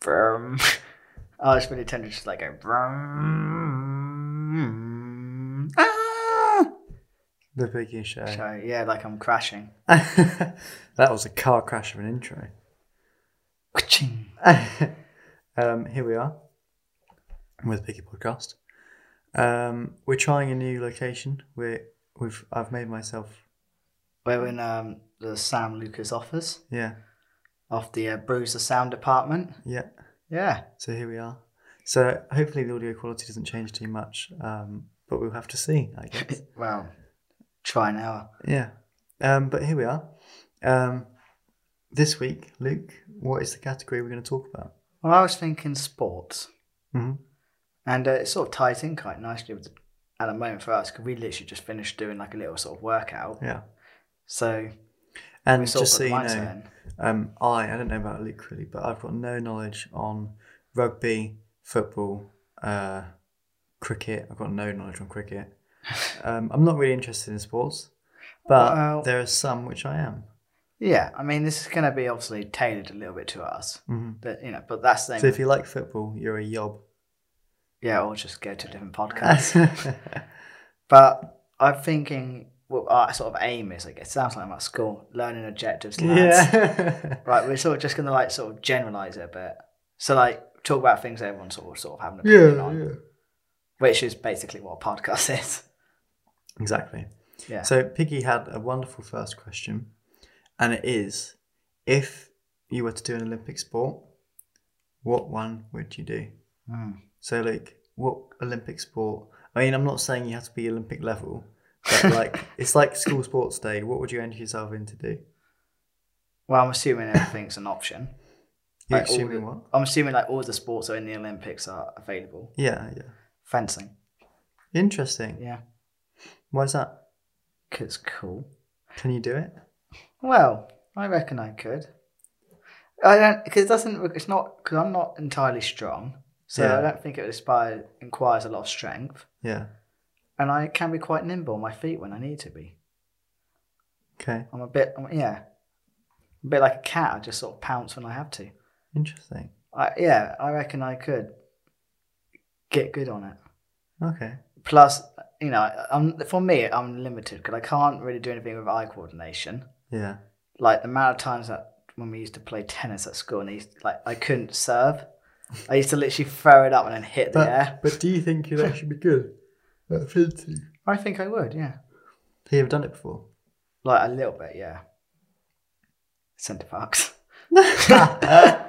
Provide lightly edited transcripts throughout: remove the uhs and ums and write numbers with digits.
Vroom. I was really tempted to just like go vroom. Ah! The Piggy Show. So yeah, like I'm crashing. That was a car crash of an intro. Ka-ching. Here we are with Piggy Podcast. We're trying a new location. I've made myself. We're in the Sam Lucas office Yeah. of the Bruiser Sound Department. Yeah. Yeah. So here we are. So hopefully the audio quality doesn't change too much, but we'll have to see, I guess. Well, try now. Yeah. But here we are. This week, Luke, what is the category we're going to talk about? Well, I was thinking sports. Mm-hmm. And it sort of ties in quite nicely with at the moment for us because we literally just finished doing like a little sort of workout. Yeah. So, and just so you know, I don't know about Luke really, but I've got no knowledge on rugby, football, cricket. I've got no knowledge on cricket. I'm not really interested in sports, but there are some which I am. Yeah, I mean, this is going to be obviously tailored a little bit to us, but but that's the thing. So if you like football, you're a yob. Yeah, or just go to a different podcast. But I'm thinking, what our sort of aim is, like, it sounds like I'm at school, learning objectives, lads. Yeah. Right, we're sort of just going to like sort of generalise it a bit. So like talk about things that everyone's sort of having an opinion on, which is basically what a podcast is. Exactly. Yeah. So Piggy had a wonderful first question, and it is, if you were to do an Olympic sport, what one would you do? So, like, what Olympic sport? I mean, I'm not saying you have to be Olympic level, but like, it's like school sports day. What would you enter yourself in to do? Well, I'm assuming everything's an option. You're assuming what? I'm assuming like all the sports that are in the Olympics are available. Yeah. Fencing. Interesting. Yeah. Why is that? Because it's cool. Can you do it? Well, I reckon I could. I don't, because it's not, because I'm not entirely strong. So I don't think it requires a lot of strength. Yeah. And I can be quite nimble on my feet when I need to be. Okay. I'm a bit like a cat. I just sort of pounce when I have to. Interesting. I reckon I could get good on it. Okay. Plus, for me, I'm limited because I can't really do anything with eye coordination. Yeah. Like the amount of times that when we used to play tennis at school and I couldn't serve. I used to literally throw it up and then hit the air. But do you think you'd actually be good at fencing? I think I would, yeah. Have you ever done it before? Like a little bit, yeah. Centre Parks. A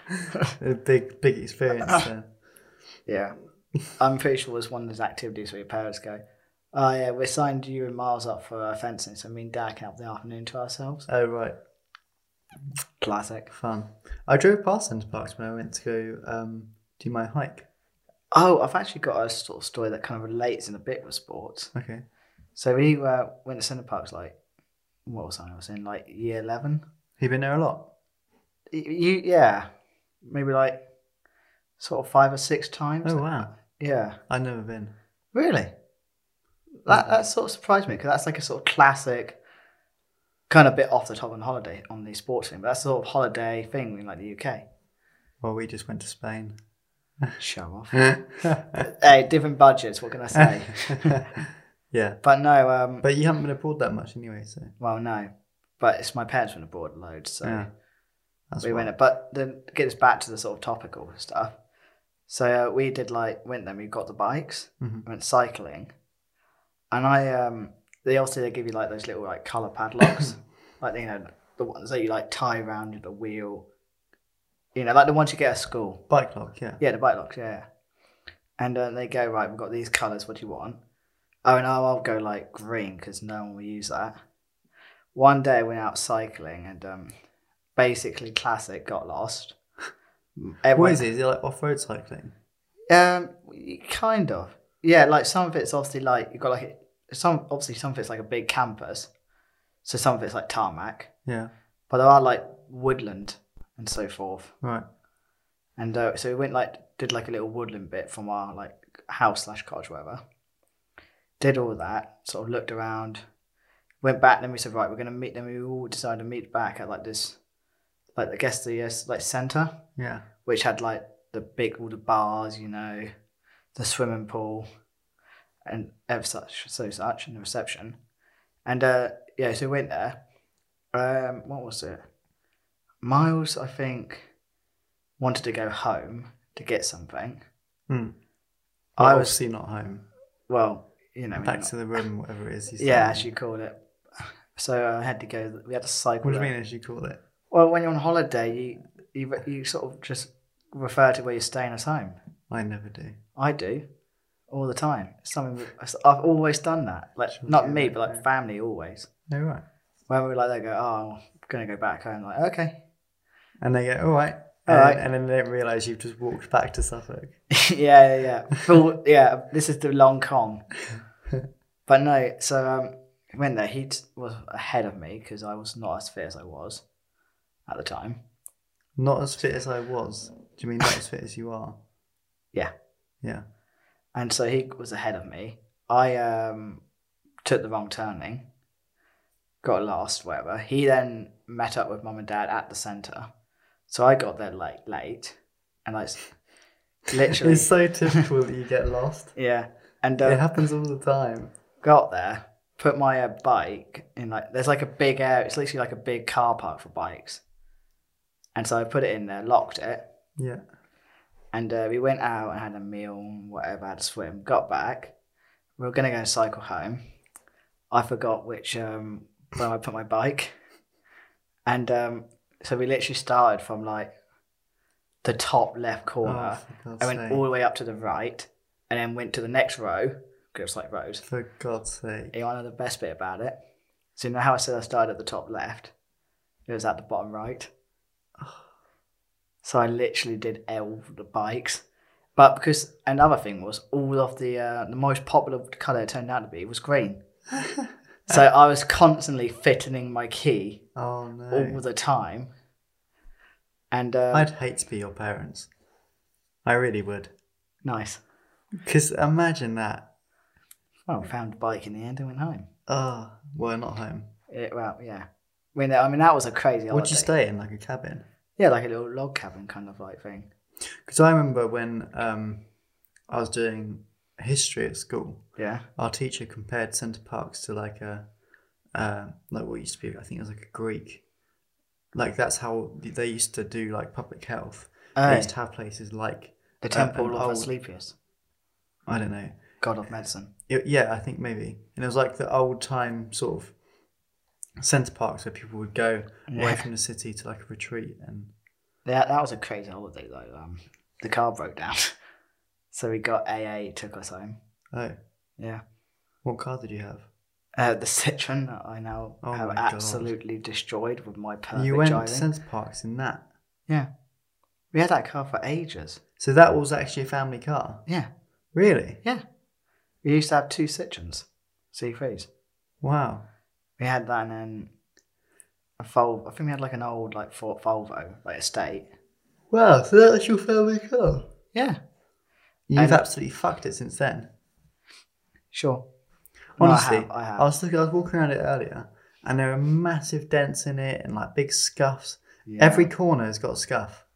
big experience then. Yeah. I'm pretty sure it was one of those activities where your parents go, oh yeah, we signed you and Miles up for fencing, so me and Dad can have the afternoon to ourselves. Oh, right. Classic. Fun. I drove past Centre Parks when I went to go do my hike. Oh, I've actually got a sort of story that kind of relates in a bit with sports. Okay. So we went to Centre Parks like, what was I was in, like year 11? You been there a lot? Yeah. Maybe like sort of 5 or 6 times. Oh, wow. Yeah. I've never been. Really? That sort of surprised me because that's like a sort of classic, kind of bit off the top on holiday on the sports thing, but that's a sort of holiday thing in like the UK. Well, we just went to Spain. Show off. Hey, different budgets, what can I say? Yeah. But no. But you haven't been abroad that much anyway, so. Well, no. But it's my parents went abroad loads, so Yeah. we went. But then get us back to the sort of topical stuff. So we did went there, we got the bikes, went cycling. And they give you like those little like colour padlocks, like, the ones that you like tie around the wheel, like the ones you get at school. Bike lock, yeah. Yeah, the bike locks, yeah. And they go, right, we've got these colours, what do you want? Oh, no, I'll go like green because no one will use that. One day I went out cycling and basically classic, got lost. What is it? Is it like off-road cycling? Kind of. Yeah, like some of it's obviously like, you've got like, some of it's like a big campus. So some of it's like tarmac. Yeah. But there are like woodland and so forth. Right. And so we went did like a little woodland bit from our like house / cottage, whatever. Did all that, sort of looked around, went back, then we said, right, we're going to meet, then we all decided to meet back at like this, like I guess the like centre. Yeah. which had like all the bars, you know, the swimming pool, and such and the reception. And so we went there. What was it? Miles, I think, wanted to go home to get something. Well, I was obviously not home. Well, you know, back to the room, whatever it is. As you call it. So I had to go. We had to cycle. What do you mean, as you call it? Well, when you're on holiday, you sort of just refer to where you're staying as home. I never do. I do, all the time. It's something I've always done that. Like not me, but like family always. No, right. When we're like, they go, "Oh, I'm gonna go back home." Like, okay. And they go, "All right." All right. And then they don't realise you've just walked back to Suffolk. Yeah. This is the long con. But no, so went there. He was ahead of me because I was not as fit as I was at the time. Not as fit as I was? Do you mean not as fit as you are? Yeah. Yeah. And so he was ahead of me. I took the wrong turning, got lost, whatever. He then met up with mum and dad at the centre. So I got there late, and like literally. It's so typical that you get lost. Yeah, and it happens all the time. Got there, put my bike in there's like a big area. It's literally like a big car park for bikes, and so I put it in there, locked it. Yeah. And we went out and had a meal, whatever. Had a swim. Got back. We were gonna go cycle home. I forgot which where I put my bike, and so we literally started from like the top left corner and went all the way up to the right, and then went to the next row because it was like rows. For God's sake! You want to know the best bit about it? So you know how I said I started at the top left? It was at the bottom right. So I literally did all the bikes. But because another thing was all of the most popular colour it turned out to be was green. So I was constantly fitting my key all the time. And I'd hate to be your parents. I really would. Nice. Because imagine that. Well, found a bike in the end and went home. Oh, well, not home. Yeah. I mean, that was a crazy holiday. What'd you stay in, like a cabin? Yeah, like a little log cabin kind of like thing. Because I remember when I was doing history at school. Yeah. Our teacher compared Center Parcs to like what used to be, I think it was like a Greek. Like that's how they used to do like public health. They used to have places like the Temple of Asclepius. I don't know. God of medicine. Yeah, I think maybe. And it was like the old time sort of Center Parcs where people would go away from the city to like a retreat. And that was a crazy holiday though. The car broke down. So we got AA, took us home. Oh. Yeah. What car did you have? The Citroen that I now have absolutely destroyed with my perfect driving. You went to Center Parcs in that? Yeah. We had that car for ages. So that was actually a family car? Yeah. Really? Yeah. We used to have 2 Citroens, C3s. Wow. We had that and then a Volvo. I think we had like an old Ford Volvo, like estate. Wow, so that's your family car? Yeah. You've absolutely fucked it since then. Sure. Honestly, no, I have. I was walking around it earlier, and there are massive dents in it and like big scuffs. Yeah. Every corner has got a scuff.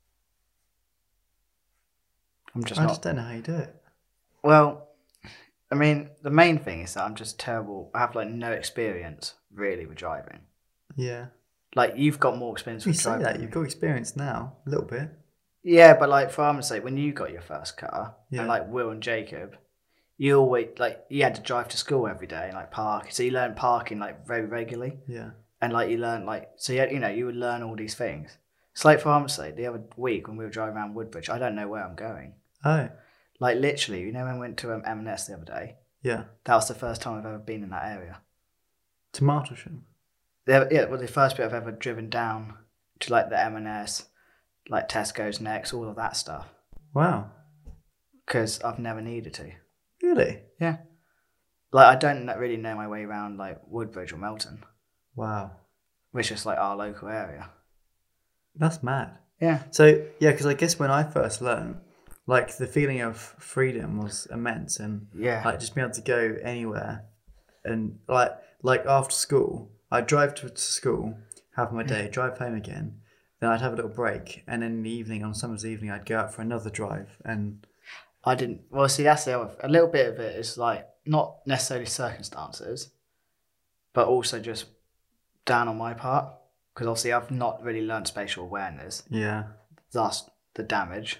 I just don't know how you do it. Well, I mean, the main thing is that I'm just terrible. I have like no experience really with driving. Yeah. Like you've got more experience with driving. You say that you've got experience now, a little bit. Yeah, but like for argument's sake, when you got your first car, and like Will and Jacob, you always you had to drive to school every day and like park. So you learned parking like very regularly. Yeah. And like you learned you would learn all these things. It's like for argument's sake, the other week when we were driving around Woodbridge, I don't know where I'm going. Oh. Like literally, when I went to M&S the other day. Yeah. That was the first time I've ever been in that area. To Martlesham? Yeah, well, the first bit I've ever driven down to like the M&S, like Tesco's Next, all of that stuff. Wow. Because I've never needed to. Really? Yeah. Like I don't really know my way around like Woodbridge or Melton. Wow. Which is like our local area. That's mad. Yeah. So, yeah, because I guess when I first learned, like the feeling of freedom was immense and like just being able to go anywhere and like after school, I'd drive to school, have my day, drive home again then I'd have a little break, and then in the evening, on summer's evening, I'd go out for another drive. And I didn't. Well, see, that's the other. A little bit of it is like not necessarily circumstances, but also just down on my part, because obviously I've not really learned spatial awareness. yeah, Thus, the damage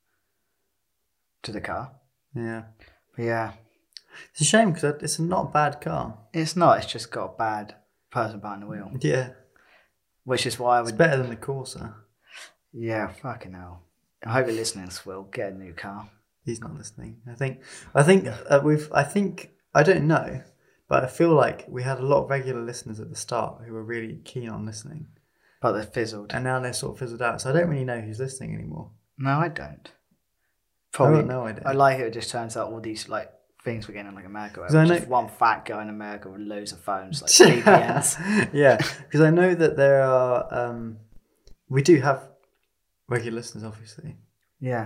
to the car. yeah, But yeah, it's a shame because it's not a bad car. it's not. It's just got a bad person behind the wheel, Yeah, which is why I it's would. better than the Corsa. Yeah, fucking hell. I hope you're listening, Will. Get a new car. He's not listening. I think I don't know, but I feel like we had a lot of regular listeners at the start who were really keen on listening, But they're fizzled. and now they're sort of fizzled out. So I don't really know who's listening anymore. No, I don't. I Probably. got no idea. I like it. It just turns out all these like things we're getting in like America. Where 'Cause I just know- one fat guy in America with loads of phones, like VPNs. Yeah, because I know that there are. We do have regular listeners, obviously. Yeah.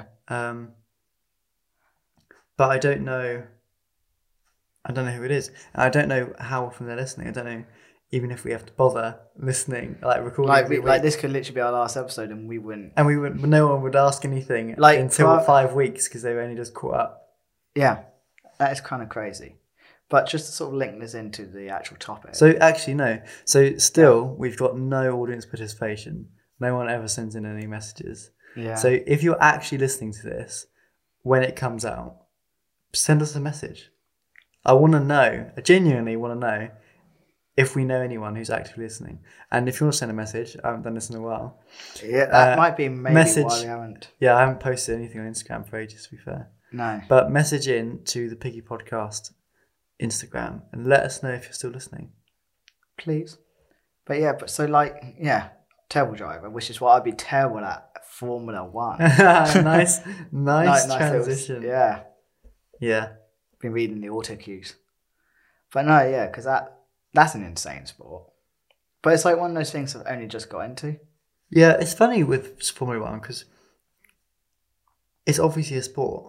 But I don't know who it is. And I don't know how often they're listening. I don't know even if we have to bother listening, like recording. Like this could literally be our last episode, and we wouldn't. And no one would ask anything Like, until for- 5 weeks because they were only just caught up. Yeah, that is kind of crazy. But just to sort of link this into the actual topic. So actually, no. So still, we've got no audience participation. No one ever sends in any messages. yeah. So if you're actually listening to this when it comes out, send us a message. I want to know. I genuinely want to know if we know anyone who's actively listening. And if you want to send a message, I haven't done this in a while. Yeah, that might be maybe message- why we haven't. Yeah, I haven't posted anything on Instagram for ages, to be fair. No. But message in to the Piggy Podcast Instagram and let us know if you're still listening. Please. But yeah, terrible driver, which is what I'd be terrible at Formula One. nice Nice little- transition. yeah. Yeah. Been reading the auto cues. But no, yeah, because that's an insane sport. But it's like one of those things I've only just got into. Yeah, it's funny with Formula One because it's obviously a sport.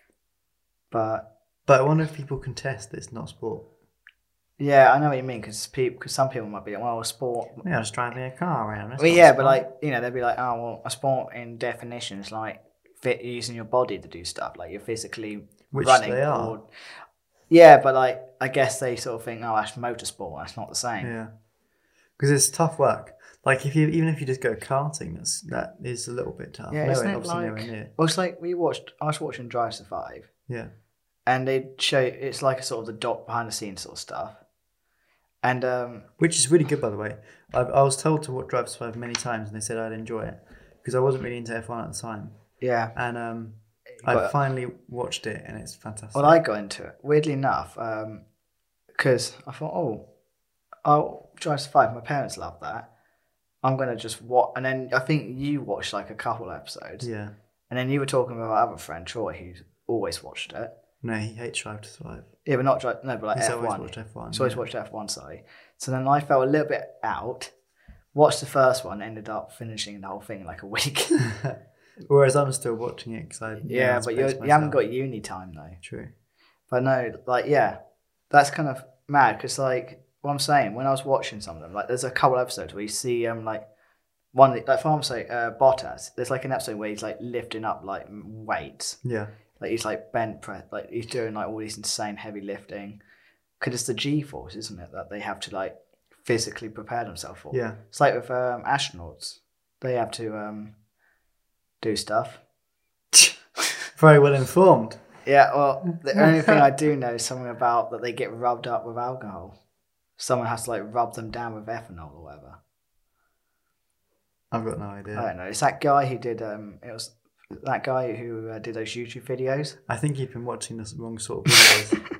But But I wonder if people contest that it's not sport. yeah, I know what you mean, because some people might be like, well, a sport. Yeah, just driving a car around. That's Well, not yeah, sport. but like, they'd be like, oh, well, a sport in definition is like using your body to do stuff. Like you're physically Which running. they are. Yeah, but like, I guess they sort of think, oh, that's motorsport. That's not the same. Yeah. Because it's tough work. Like even if you just go karting, that is a little bit tough. Yeah, No, isn't it obviously like? nowhere near. Well, it's like I was watching Drive to Survive, Yeah. and they show it's like a sort of the doc behind the scenes sort of stuff, and Which is really good, by the way. I was told to watch Drive to Survive many times, and they said I'd enjoy it because I wasn't really into F1 at the time. yeah. And got I it. finally watched it, and it's fantastic. Well, I got into it weirdly enough because I thought, I'll Drive to Survive. My parents love that. I'm gonna just watch, and then I think you watched like a couple episodes, Yeah. and then you were talking about our other friend Troy, who's always watched it. No, he hates Drive to Survive. Yeah, but not Drive. No, but like He's F1. always watched F1. He's always watched F1, sorry. So then I felt a little bit out. Watched the first one, ended up finishing the whole thing in like a week. Whereas I'm still watching it because I Yeah, but you haven't got uni time though. True. But no, like yeah, that's kind of mad because like what I'm saying, when I was watching some of them, like there's a couple episodes where you see like one of the, like for example, Bottas. There's like an episode where he's like lifting up like weights, Yeah. like he's like bent press, like he's doing like all these insane heavy lifting. Because it's the G-force, isn't it, that they have to like physically prepare themselves for. Yeah. It's like with astronauts, they have to do stuff. Very well informed. Yeah, well, the only thing I do know is something about that they get rubbed up with alcohol. Someone has to like rub them down with ethanol or whatever. I've got no idea. I don't know. It's that guy who did. It was that guy who did those YouTube videos. I think you've been watching the wrong sort of videos.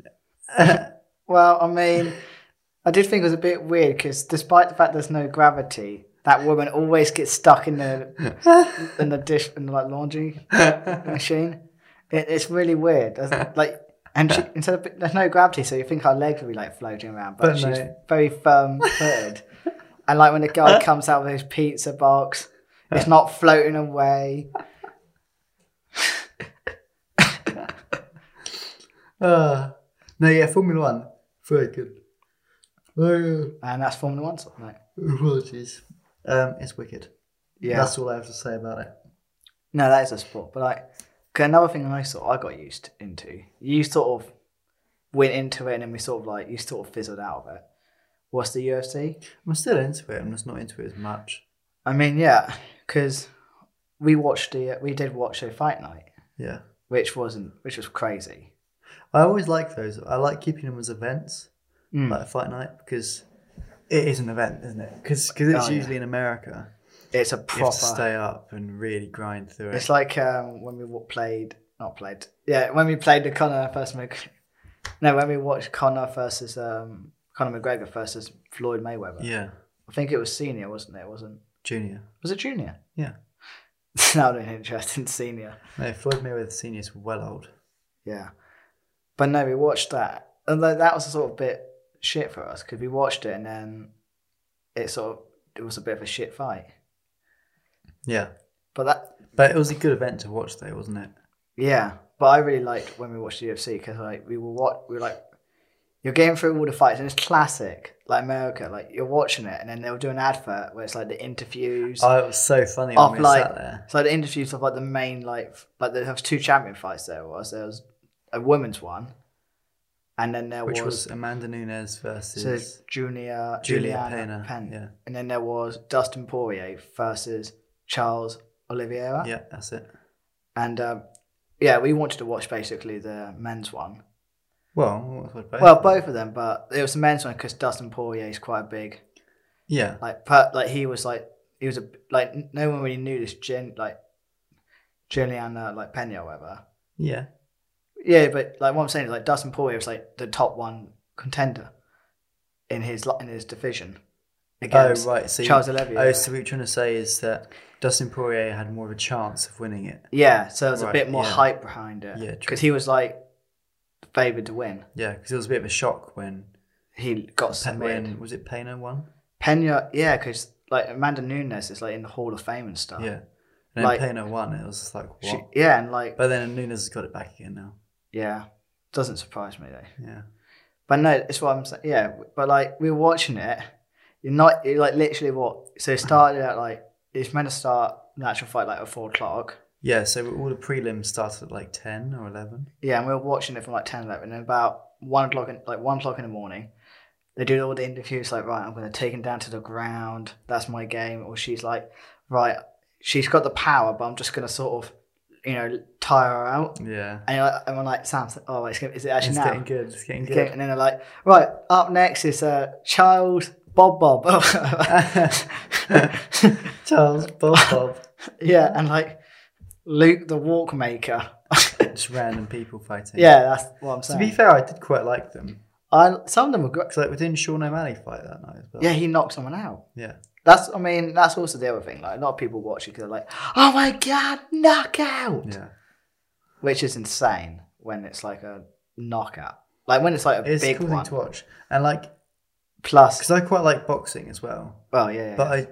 Well, I mean, I did think it was a bit weird because despite the fact there's no gravity, that woman always gets stuck in the dish in the like laundry machine. It's really weird. Like, and she, there's no gravity, so you think her legs would be like floating around, but she's no. very firm footed. And like when the guy comes out with his pizza box, it's not floating away. No, yeah, Formula One, very good. And that's Formula One, sort of, mate. Apologies. It's wicked. Yeah. That's all I have to say about it. No, that is a sport. But like, 'cause another thing I got used into, you sort of went into it and then you sort of fizzled out of it. What's the UFC? I'm still into it. I'm just not into it as much. I mean, yeah, because we did watch a fight night. Yeah. Which was crazy. I always like those. I like keeping them as events, like a fight night, because it is an event, isn't it? Because it's usually in America. It's a proper. You have to stay up and really grind through it. It's like when we played the Conor versus when we watched Conor McGregor versus Floyd Mayweather. Yeah. I think it was senior, wasn't it? It wasn't Junior. Was it junior? Yeah. That would be interesting. Senior. No, Floyd Mayweather seniors were well old. Yeah, but no, we watched that, and that was a sort of bit shit for us because we watched it and then it was a bit of a shit fight. Yeah, but it was a good event to watch, though, wasn't it? Yeah, but I really liked when we watched the UFC because like we were like, you're getting through all the fights and it's classic like America. Like you're watching it and then they'll do an advert where it's like the interviews. Oh, it was so funny when we sat there. So the interviews of like the main like there was 2 champion fights. There was a women's one, and then which was Amanda Nunes versus Juliana Pena. Yeah, and then there was Dustin Poirier versus Charles Oliveira. Yeah, that's it. And yeah, we wanted to watch basically the men's one. Well, both of them, but it was the men's one because Dustin Poirier is quite a big. Yeah. He was no one really knew this Juliana like Pena or whatever. Yeah. Yeah, but like what I'm saying is like Dustin Poirier was like the top 1 contender in his division against Charles Oliveira. So what you're trying to say is that Dustin Poirier had more of a chance of winning it. Yeah, so there's a bit more hype behind it. Yeah, because he was like favoured to win. Yeah, because it was a bit of a shock when he got submitted. Was it Pena won? Pena, yeah, because like Amanda Nunes is like in the Hall of Fame and stuff. Yeah, and then Pena won. It was just like what? But then Nunes has got it back again now. Yeah, doesn't surprise me though. Yeah, but no, it's what I'm saying. Yeah, but like we were watching it. You're like literally what? So it started at like it's meant to start the actual fight like at 4:00. Yeah, so all the prelims started at like 10 or 11. Yeah, and we were watching it from like 10, 11, and about 1:00 in the morning, they do all the interviews like, right, I'm going to take him down to the ground. That's my game. Or she's like, right, she's got the power, but I'm just going to sort of, tire her out. Yeah. And we're like, Sam, is it actually now? It's getting good. And then they're like, right, up next is Charles Bob. Charles Bob. Yeah, and like Luke the Walkmaker. Just random people fighting. Yeah, that's what I'm saying. To be fair, I did quite like them. Some of them were great. Because we didn't Sean O'Malley fight that night as well. Yeah, he knocked someone out. Yeah. That's also the other thing. Like a lot of people watch it because they're like, "Oh my god, knockout!" Yeah, which is insane when it's like a knockout. Like when it's like a big cool one. thing to watch, and like plus because I quite like boxing as well. Oh yeah. But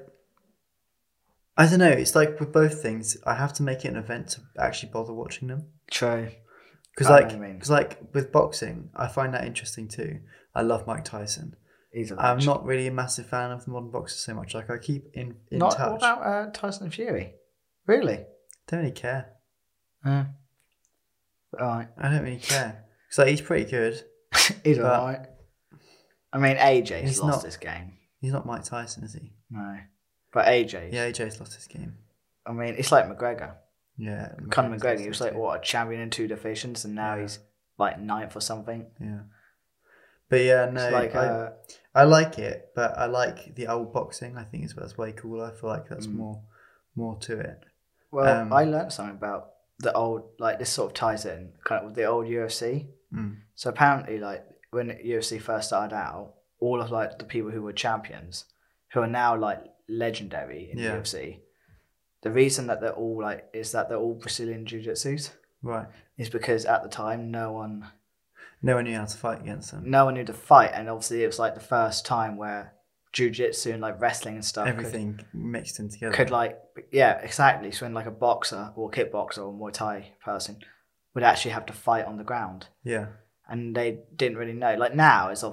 I don't know. It's like with both things, I have to make it an event to actually bother watching them. True. Because like with boxing, I find that interesting too. I love Mike Tyson. I'm not really a massive fan of the modern boxers so much. Like I keep in touch. What about Tyson and Fury? Really? Don't really care. All right. I don't really care. So he's pretty good. He's alright. I mean, AJ's lost his game. He's not Mike Tyson, is he? No. But AJ. Yeah, AJ's lost his game. I mean, it's like McGregor. Yeah. Conor McGregor, he was like, what, a champion in 2 divisions, and now he's like 9th or something. Yeah. But yeah, no, like, I like it, but I like the old boxing. I think that's way cooler. I feel like that's more to it. Well, I learned something about the old, like this sort of ties in kind of with the old UFC. So apparently, like when UFC first started out, all of like the people who were champions, who are now like legendary in UFC, the reason that they're all all Brazilian jiu-jitsus, right, is because at the time no one knew how to fight against them. No one knew to fight, and obviously it was like the first time where jiu-jitsu and like wrestling and stuff, everything mixed in together. Could exactly. So when like a boxer or kickboxer or Muay Thai person would actually have to fight on the ground. Yeah. And they didn't really know. Like now it's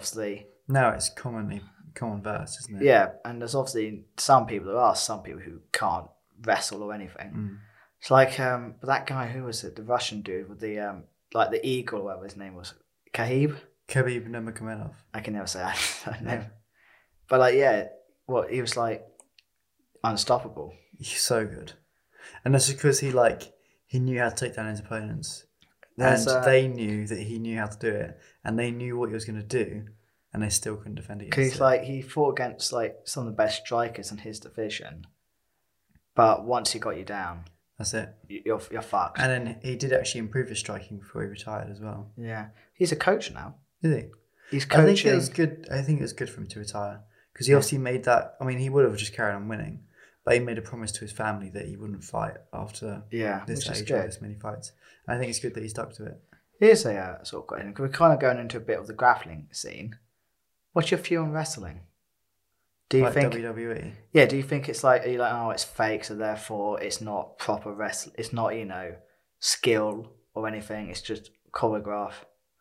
common verse, isn't it? Yeah, and there's obviously some people who can't wrestle or anything. It's like but that guy, who was it? The Russian dude with the like the eagle, or whatever his name was, Khabib Nurmagomedov. I can never say that name. But like, yeah, he was like unstoppable. He's so good, and that's because he knew how to take down his opponents, and they knew that he knew how to do it, and they knew what he was going to do, and they still couldn't defend it. Because he fought against like some of the best strikers in his division, but once he got you down, that's it. You're fucked. And then he did actually improve his striking before he retired as well. Yeah, he's a coach now. Is he? He's coaching. I think it was good for him to retire because he obviously made that. I mean, he would have just carried on winning, but he made a promise to his family that he wouldn't fight after this age or this many fights. And I think it's good that he stuck to it. Here's a sort of question, because we're kind of going into a bit of the grappling scene. What's your view on wrestling? Do you think WWE? Yeah. Do you think it's like, are you like, oh, it's fake, so therefore it's not proper wrestling? It's not, skill or anything. It's just choreograph.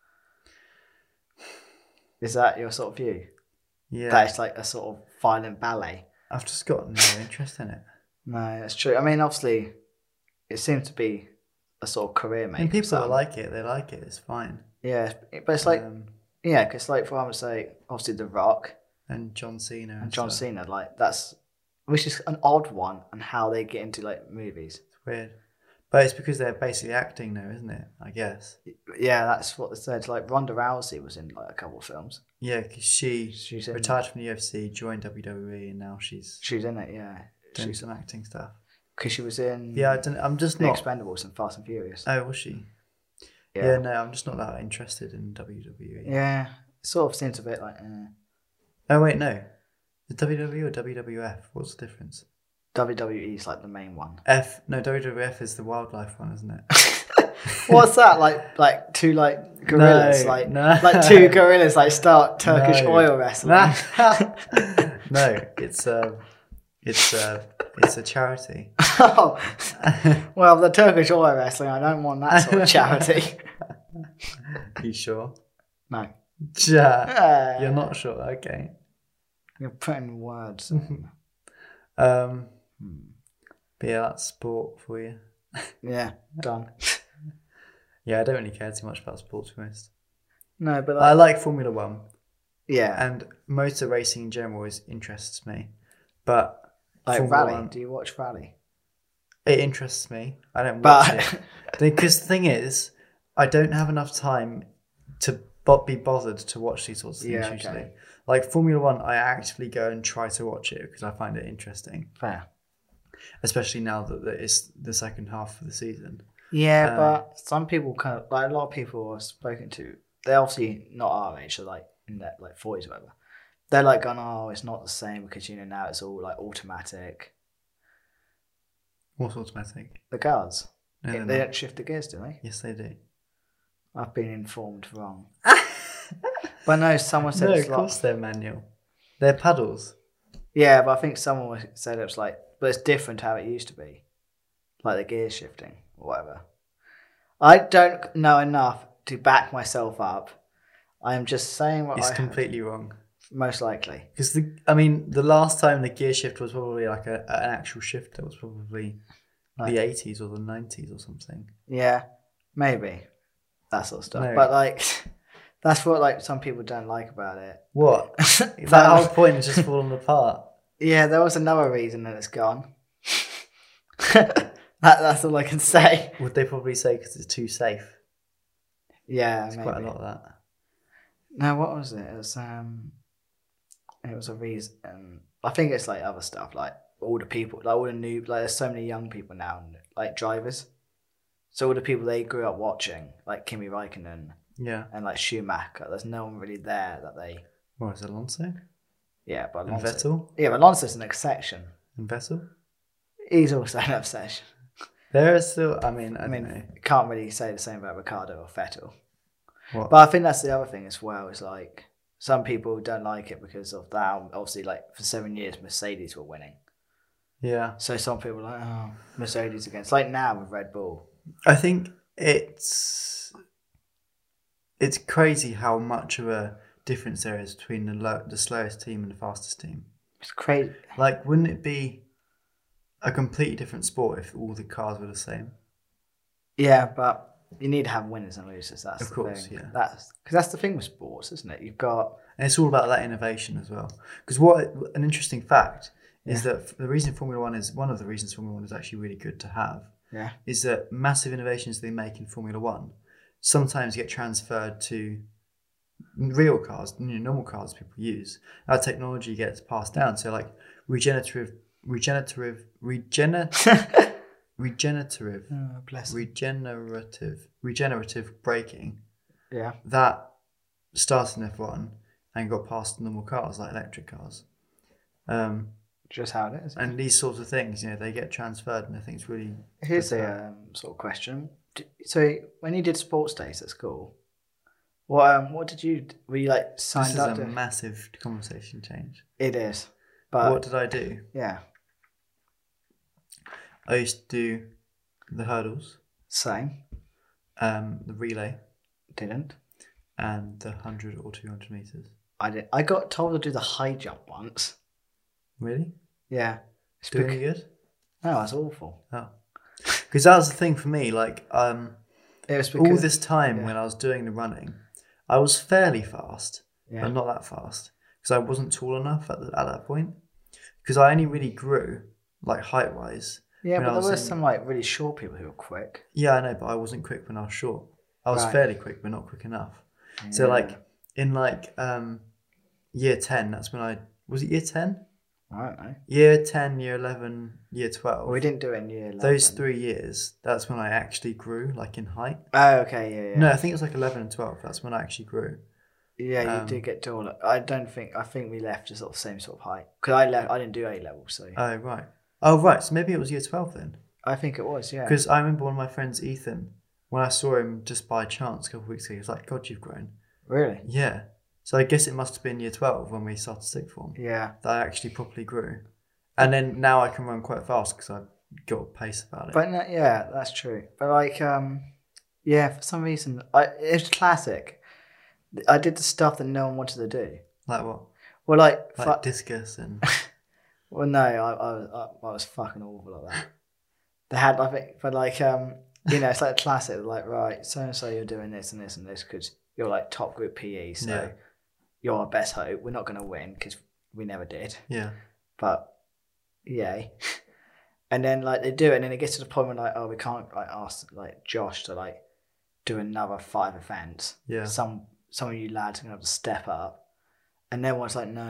Is that your sort of view? Yeah. That it's like a sort of violent ballet. I've just got no interest in it. No, that's true. I mean, obviously, it seems to be a sort of career maker. And people that like it, they like it. It's fine. Yeah, but it's like, because like for example, say obviously The Rock and John Cena and John Cena, like which is an odd one, and how they get into like movies. It's weird, but it's because they're basically acting now, isn't it? I guess. Yeah, that's what they said. Like Ronda Rousey was in like a couple of films. Yeah, because she's retired from the UFC, joined WWE, and now she's in it. Yeah, doing some acting stuff. Because she was in I'm just The not Expendables and Fast and Furious. Oh, was she? Yeah, no, I'm just not that interested in WWE. Yeah, it sort of seems a bit like. Oh wait, no, is it WWE or WWF? What's the difference? WWE is like the main one. WWF is the wildlife one, isn't it? What's that like? Two like gorillas, like two gorillas like start Turkish oil wrestling. No, it's a charity. Oh, well, the Turkish oil wrestling, I don't want that sort of charity. You sure? No. You're not sure. Okay. You're putting words. But yeah, that's sport for you. Yeah, done. Yeah, I don't really care too much about sport, to be honest. No, but I like Formula One. Yeah. And motor racing in general interests me. But like Formula rally, 1, do you watch rally? It interests me. I don't watch it. Because the thing is, I don't have enough time to be bothered to watch these sorts of things usually. Like Formula One, I actively go and try to watch it because I find it interesting. Fair. Especially now that it's the second half of the season. Yeah, but some people kind of, like a lot of people I've spoken to, they're obviously not our age, so like in their like 40s or whatever. They're like going, oh, it's not the same because, now it's all like automatic. What's automatic? The cars. No, they don't shift the gears, do they? Yes, they do. I've been informed wrong. But no, someone said of course they're manual. They're paddles. Yeah, but I think someone said it was like, but it's different how it used to be. Like the gear shifting or whatever. I don't know enough to back myself up. I am just saying what it's completely wrong. Most likely. Because the last time the gear shift was probably like an actual shifter was probably the 80s or the 90s or something. Yeah, maybe. That sort of stuff. No. But like, that's what like some people don't like about it. What? That whole point is just falling apart. Yeah, there was another reason that it's gone. That's all I can say. Would they probably say because it's too safe? Yeah, it's maybe. Quite a lot of that. No, what was it? It was a reason. I think it's like other stuff, like all the people, like all the new, like there's so many young people now, like drivers. So all the people they grew up watching, like Kimi Räikkönen, and like Schumacher, there's no one really there that they. What is Alonso? Yeah, but Alonso. And Vettel. Yeah, but Alonso's an exception. And Vettel. He's also an obsession. There are still. I mean, I don't know. Can't really say the same about Ricciardo or Vettel. What? But I think that's the other thing as well. Is like some people don't like it because of that. Obviously, like for 7 years, Mercedes were winning. Yeah. So some people are like, oh, Mercedes against. Like now with Red Bull. I think it's crazy how much of a difference there is between the slowest team and the fastest team. It's crazy. Like, wouldn't it be a completely different sport if all the cars were the same. Yeah, but you need to have winners and losers. That's Of the course, thing. yeah. Because that's the thing with sports, isn't it? You've got And it's all about that innovation as well. Because what an interesting fact is that the reason Formula One is one of the reasons Formula One is actually really good to have. Yeah. Is that massive innovations they make in Formula One sometimes get transferred to real cars, normal cars people use. That technology gets passed down. So like regenerative braking. Yeah. That started in F1 and got passed to normal cars like electric cars. Just how it is. And these sorts of things, they get transferred, and I think it's really. Here's a sort of question. So when you did sports days at school, what did you? Were you like signed up? This is a massive conversation change. It is. But what did I do? Yeah. I used to do the hurdles. Same. The relay. Didn't. And the 100 or 200 meters. I did. I got told to do the high jump once. Really? Yeah. Doing any good? No, that's awful. Oh. Because that was the thing for me. Like, it was because, all this time when I was doing the running, I was fairly fast, but not that fast. Because I wasn't tall enough at that point. Because I only really grew, like, height-wise. Yeah, but there were some, like, really short people who were quick. Yeah, I know, but I wasn't quick when I was short. I was fairly quick, but not quick enough. Yeah. So, like, in, like, year 10, that's when I... Was it year 10? I don't know. Year 10, year 11, year 12. Well, we didn't do it in year 11. Those 3 years, that's when I actually grew, like, in height. Oh, okay, yeah. No, I think it was, like, 11 and 12. That's when I actually grew. Yeah, you did get taller. I think we left just sort of same sort of height. Because I didn't do A-level, so... Oh, right. Oh, right. So maybe it was year 12 then. I think it was, yeah. Because I remember one of my friends, Ethan, when I saw him just by chance a couple of weeks ago, he was like, God, you've grown. Really? Yeah. So I guess it must have been year 12 when we started sixth form. Yeah. That I actually properly grew. And then now I can run quite fast because I've got a pace about it. But yeah, that's true. But like, yeah, for some reason, it's classic. I did the stuff that no one wanted to do. Like what? Well, like discus and... Well, no, I was fucking awful at that. They had, I think, but like, it's like a classic. Like, right, so and so, you're doing this and this and this because you're like top group PE, so you're our best hope. We're not going to win because we never did. Yeah. But yay. And then like they do it, and then it gets to the point where like, oh, we can't like ask like Josh to like do another 5 events. Yeah. Some of you lads are gonna have to step up. And then one's like, no.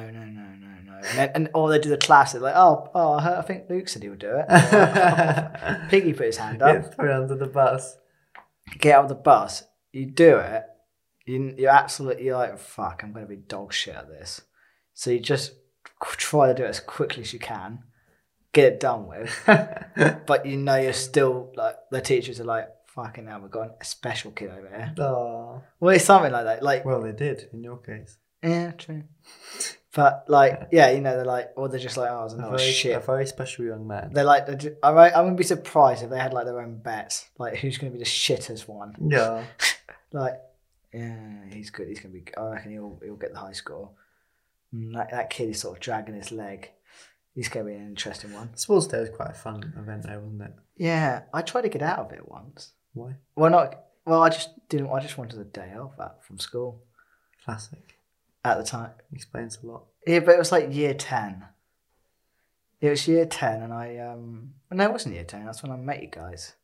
Or they do the classic, like, I think Luke said he would do it. Piggy put his hand up. Get thrown under the bus. Get out of the bus. You do it. You're like, fuck, I'm going to be dog shit at this. So you just try to do it as quickly as you can. Get it done with. But you're still, like, the teachers are like, fucking hell, we've got a special kid over here. Oh. Well, it's something like that. Like, well, they did, in your case. Yeah, true. But like, yeah, they're like, or they're just like, oh, it's another shit. A very special young man. They're like, I wouldn't be surprised if they had like their own bets, like who's going to be the shittest one. Yeah. Like, yeah, he's good. He's going to be. I reckon he'll get the high score. That kid is sort of dragging his leg. He's going to be an interesting one. Sports Day was quite a fun event, though, wasn't it? Yeah, I tried to get out of it once. Why? Well, I just didn't. I just wanted a day off from school. Classic. At the time. Explains a lot. Yeah, but it was like year 10. It was year 10 and I... No, it wasn't year 10. That's when I met you guys.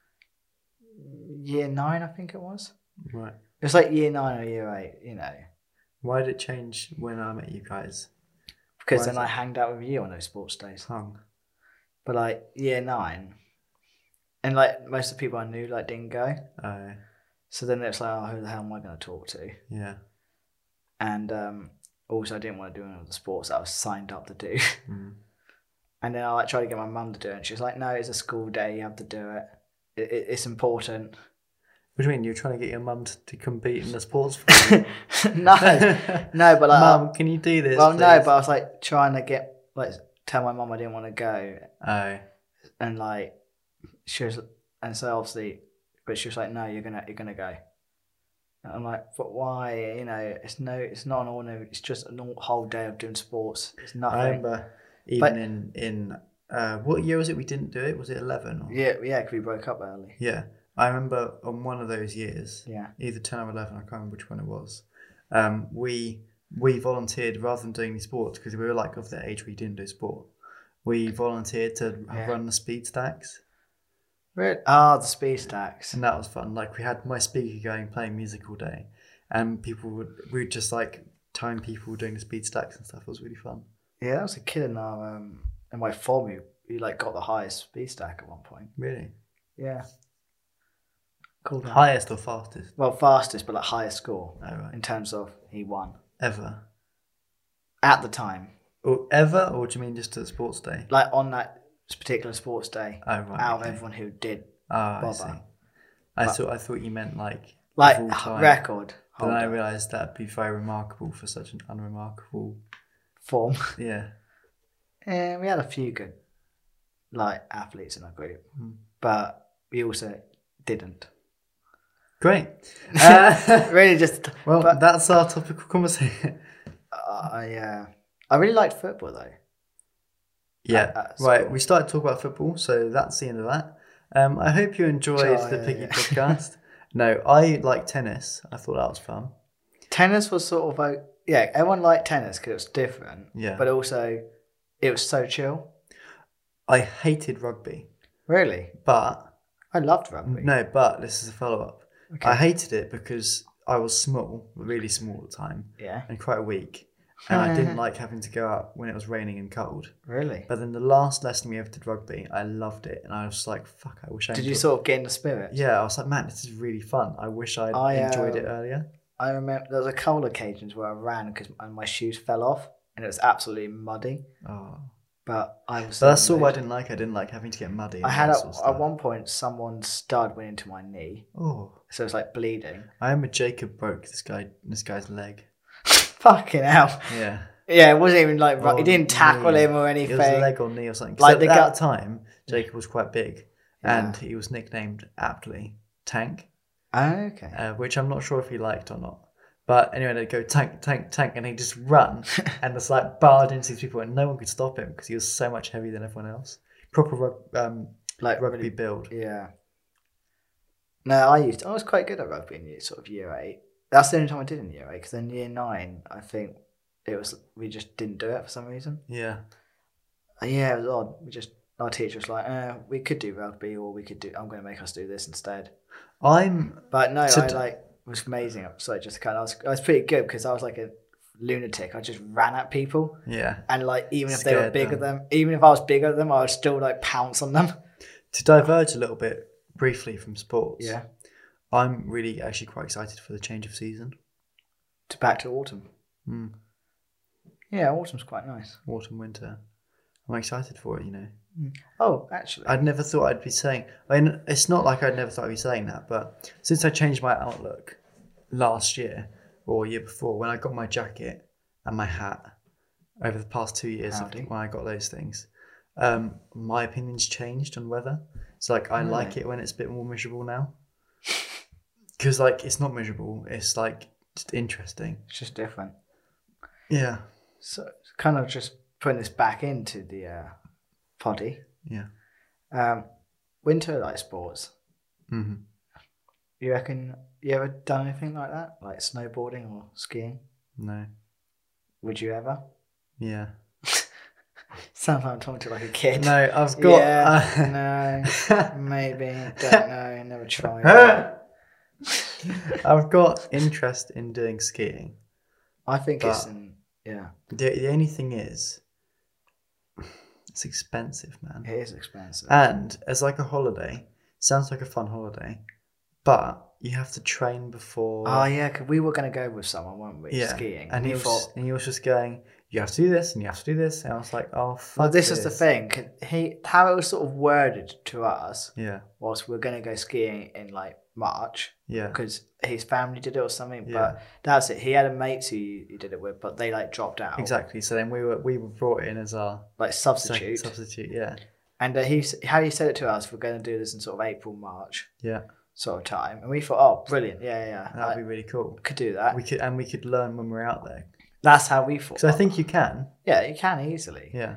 Year 9, I think it was. Right. It was like year 9 or year 8, Why did it change when I met you guys? Because then I hanged out with you on those sports days. But like year 9... And like most of the people I knew like didn't go. Oh. So then it's like, who the hell am I going to talk to? Yeah. And also I didn't want to do any of the sports that I was signed up to do. Mm. And then I like tried to get my mum to do it, and she was like, "No, it's a school day. You have to do it. It's important." What do you mean? You're trying to get your mum to compete in the sports? No, but like, Mum, can you do this? Well, please? no, but I was like trying to tell my mum I didn't want to go. Oh. And like she was, and so obviously, but she was like, "No, you're gonna go." And I'm like, "But why? It's not an ordinary. It's just a whole day of doing sports. It's nothing." I remember even in What year was it we didn't do it? Was it 11? Or? Yeah, because we broke up early. Yeah. I remember on one of those years, Yeah. either 10 or 11, I can't remember which one it was, we volunteered rather than doing any sports, because we were like of the age where you didn't do sport. We volunteered to run the speed stacks. Really? Oh, the speed stacks. And that was fun. Like, we had my speaker going, playing music all day, and we would just like time people doing the speed stacks and stuff. It was really fun. Yeah, that was a kid in our in my form. You like got the highest speed stack at one point. Really? Yeah. Cool. Highest or fastest? Well, fastest, but like highest score. Oh, right. In terms of he won. Ever? At the time. Or ever? Or do you mean just at sports day? Like on that particular sports day. Oh, right. Out of everyone who did bother. I thought you meant like record. But then I realised that'd be very remarkable for such an unremarkable form. Yeah. And we had a few good athletes in our group, but we also didn't. Great. Really just... Well, that's our topical conversation. I really liked football though. Yeah. Right, we started talking about football, so that's the end of that. I hope you enjoyed the Piggy podcast. No, I like tennis. I thought that was fun. Tennis was sort of everyone liked tennis because it was different. Yeah. But also, it was so chill. I hated rugby. Really? But... I loved rugby. No, but this is a follow-up. Okay. I hated it because I was small, really small at the time. Yeah. And quite weak. And I didn't like having to go out when it was raining and cold. Really? But then the last lesson we ever did rugby, I loved it. And I was like, fuck, I wish I Did you sort of get in the spirit? Yeah, I was like, man, this is really fun. I wish I'd enjoyed it earlier. I remember there was a couple of occasions where I ran and my shoes fell off and it was absolutely muddy. Oh. But I was... But that's all I didn't like. I didn't like having to get muddy. I had at one point, someone's stud went into my knee. Oh. So it's like bleeding. I remember Jacob broke this guy's leg. Fucking hell. Yeah. Yeah, it wasn't even like... he didn't tackle him or anything. It was a leg or knee or something. Like at that time, Jacob was quite big. Yeah. And he was nicknamed aptly Tank. Oh, okay. Which I'm not sure if he liked or not. But anyway, they'd go tank, tank, tank, and he'd just run and just like barred into these people, and no one could stop him because he was so much heavier than everyone else. Proper rugby really, build. Yeah. No, I was quite good at rugby in year 8. That's the only time I did in year 8, because in year 9, I think we just didn't do it for some reason. Yeah. Yeah, it was odd. Our teacher was like, we could do rugby, or I'm going to make us do this instead. But no, it was amazing. So I was pretty good because I was like a lunatic. I just ran at people. Yeah. And even if they were bigger than them, even if I was bigger than them, I would still pounce on them. To diverge a little bit briefly from sports. Yeah. I'm really actually quite excited for the change of season. Back to autumn. Mm. Yeah, autumn's quite nice. Autumn, winter. I'm excited for it, Oh, actually. I'd never thought I'd be saying... I mean, it's not like I'd never thought I'd be saying that, but since I changed my outlook last year, or year before, when I got my jacket and my hat, over the past 2 years when I got those things, my opinion's changed on weather. It's I like it when it's a bit more miserable now. Because, it's not miserable. It's, just interesting. It's just different. Yeah. So, it's kind of just putting this back into the... poddy. Yeah. Winter sports. Mm-hmm. You reckon you ever done anything like that? Like snowboarding or skiing? No. Would you ever? Yeah. Sounds like I'm talking to like a kid. No, I've got... Yeah, no, maybe. Don't know. Never tried. I've got interest in doing skiing. I think The only thing is... It's expensive, man. It is expensive. And as a holiday, sounds like a fun holiday, but you have to train before. Oh, yeah, because we were going to go with someone, weren't we? Yeah. Skiing. And he was just going, you have to do this and you have to do this. And I was like, oh, fuck. Well, this is the thing. How it was sort of worded to us was we're going to go skiing in March. Yeah. Because his family did it or something. Yeah. But that's it. He had a mate who he did it with, but they dropped out. Exactly. So then we were brought in as our substitute. Substitute, yeah. And how he said it to us, we're going to do this in sort of April, March. Yeah. Sort of time. And we thought, oh, brilliant. Yeah. That'd be really cool. Could do that. We could learn when we're out there. That's how we thought. Because I think you can. Yeah, you can easily. Yeah.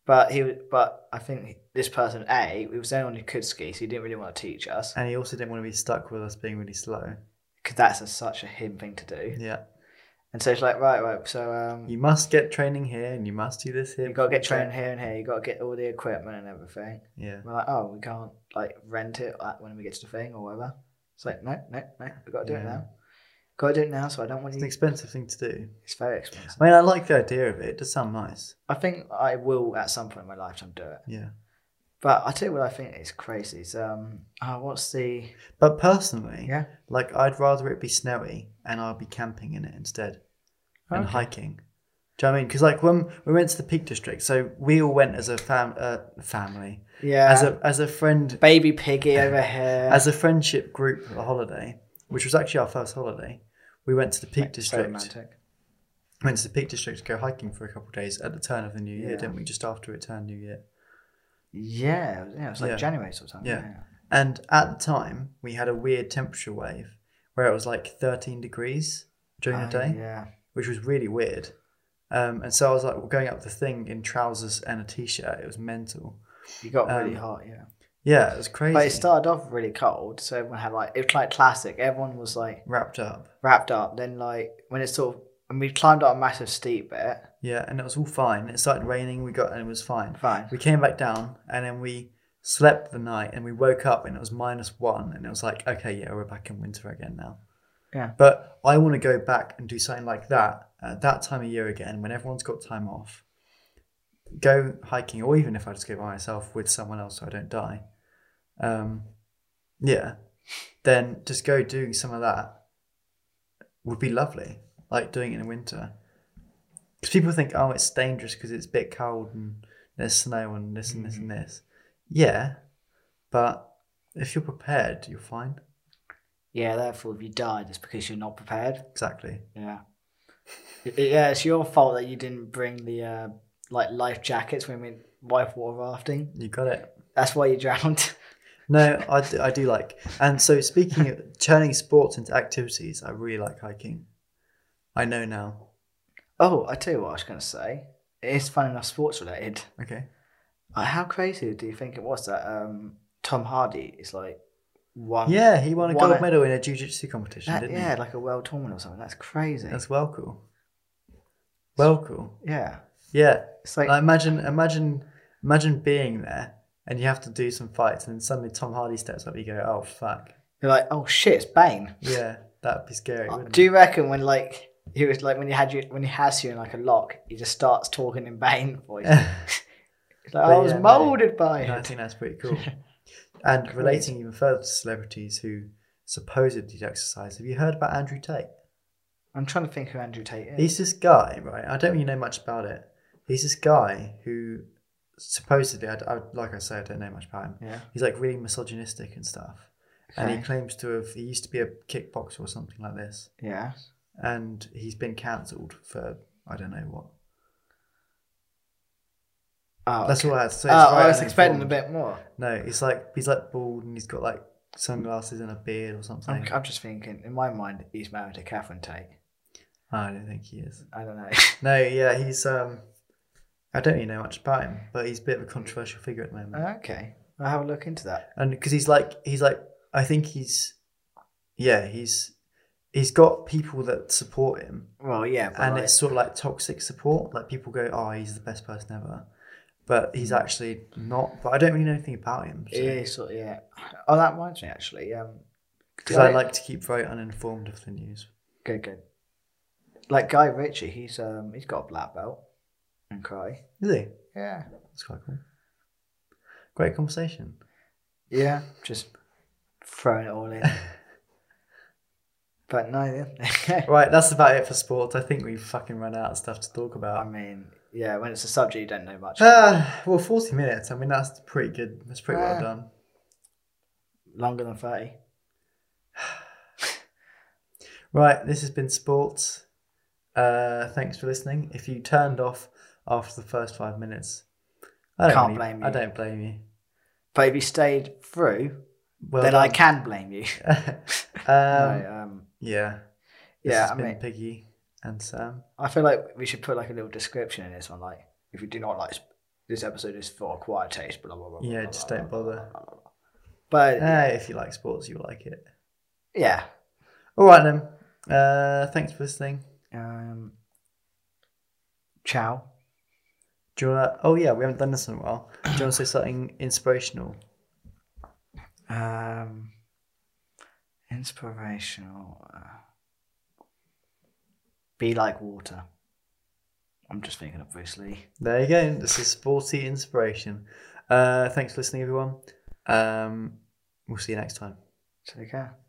But I think this person, he was the only one who could ski, so he didn't really want to teach us. And he also didn't want to be stuck with us being really slow. Because that's such a him thing to do. Yeah. And so it's like, right, so... you must get training here, and you must do this here. You've got to get training here and here. You've got to get all the equipment and everything. Yeah. We're like, oh, we can't, like, rent it when we get to the thing or whatever. It's like, no, we've got to do it now. Got to do it now, so I don't want you... It's an expensive thing to do. It's very expensive. I mean, I like the idea of it. It does sound nice. I think I will, at some point in my lifetime, do it. Yeah. But I tell you what I think is crazy. Is, what's the... But personally, Yeah. like, I'd rather it be snowy and I'll be camping in it instead and hiking. Do you know what I mean? Because, like, when we went to the Peak District, so we all went as a family. Yeah. As a friend... Baby Piggy over here. As a friendship group for a holiday, which was actually our first holiday, we went to the Peak District. So romantic. Went to the Peak District to go hiking for a couple of days at the turn of the new year, Yeah. didn't we? Just after it turned New Year. Yeah, it was like Yeah. January sort of time. Yeah. And at the time, we had a weird temperature wave where it was like 13 degrees during the day, Yeah. which was really weird. And so I was like, we're going up the thing in trousers and a t-shirt. It was mental. You got really hot, yeah. Yeah, it was crazy. But it started off really cold, so everyone had like, it was like classic. Everyone was like Wrapped up. wrapped up. Then like when it sort of, and we climbed up a massive steep bit. Yeah, and it was all fine. It started raining, and it was fine. Fine. We came back down, and then we slept the night, and we woke up, and it was -1, and it was like, okay, yeah, we're back in winter again now. Yeah. But I want to go back and do something like that at that time of year again, when everyone's got time off. Go hiking, or even if I just go by myself with someone else so I don't die. Yeah. Then just go doing some of that would be lovely. Like doing it in winter. Because people think, oh, it's dangerous because it's a bit cold and there's snow and this and this and this. Yeah. But if you're prepared, you're fine. Yeah, therefore if you died, it's because you're not prepared. Exactly. Yeah. Yeah, it's your fault that you didn't bring the like life jackets when we went whitewater rafting. You got it. That's why you drowned. No, I do like. And so speaking of turning sports into activities, I really like hiking. I know now. Oh, I tell you what I was going to say. It is fun enough sports related. Okay. How crazy do you think it was that Tom Hardy is like one? Yeah, he won a gold medal in a jiu-jitsu competition, didn't he? Yeah, like a world tournament or something. That's crazy. That's well cool. Well cool. Yeah. Yeah. It's like imagine being there and you have to do some fights and then suddenly Tom Hardy steps up, you go, oh fuck. you're like, oh shit, it's Bane. Yeah, that'd be scary, wouldn't Do you reckon when like he was like when he has you in like a lock, he just starts talking in Bane voice? It's like, I was moulded by I it. think that's pretty cool. And relating even further to celebrities who supposedly exercise, have you heard about Andrew Tate? I'm trying to think who Andrew Tate is. He's this guy, right? I don't really know much about it. He's this guy who supposedly, like I say, I don't know much about him. Yeah. He's like really misogynistic and stuff. Okay. And he claims to have, he used to be a kickboxer or something like this. Yeah. And he's been cancelled for, I don't know what. Oh, That's all I had to say. I was expecting a bit more. No, he's like bald and he's got like sunglasses and a beard or something. I'm just thinking, in my mind, he's married to Catherine Tate. I don't think he is. I don't know. No, yeah, he's I don't really know much about him, but he's a bit of a controversial figure at the moment. Okay, I'll have a look into that. And because he's like I think he's got people that support him, Well, yeah, but and like, it's sort of like toxic support. Like people go, oh, he's the best person ever, but he's actually not. But I don't really know anything about him. So. yeah, sort of, yeah. Oh, that reminds me actually. Because I like to keep very uninformed of the news. Good. Like Guy Ritchie, he's got a black belt in karate. Is he? Yeah. That's quite cool. Great conversation. Yeah, just throwing it all in. But no, yeah. Right, that's about it for sports. I think we've fucking run out of stuff to talk I about. mean, yeah, when it's a subject you don't know much. Well, 40 minutes. I mean, that's pretty good. That's pretty well done. Longer than 30. Right, this has been sports. Thanks for listening. If you turned off after the first 5 minutes, I don't blame you. But if you stayed through, Well then done. I can blame you. Yeah. This has been Piggy and Sam. I feel like we should put like a little description in this one, like if you do not like this episode is for acquired taste, blah, blah, blah. Yeah, blah, just blah, don't blah, bother. blah, blah, blah, blah. But if you like sports, you'll like it. Yeah. All right then. Thanks for listening. Ciao. Do you wanna, oh yeah, we haven't done this in a while. Do you want to say something inspirational? Inspirational. Be like water. I'm just thinking of Bruce Lee. There you go. This is sporty inspiration. Thanks for listening, everyone. We'll see you next time. Take care.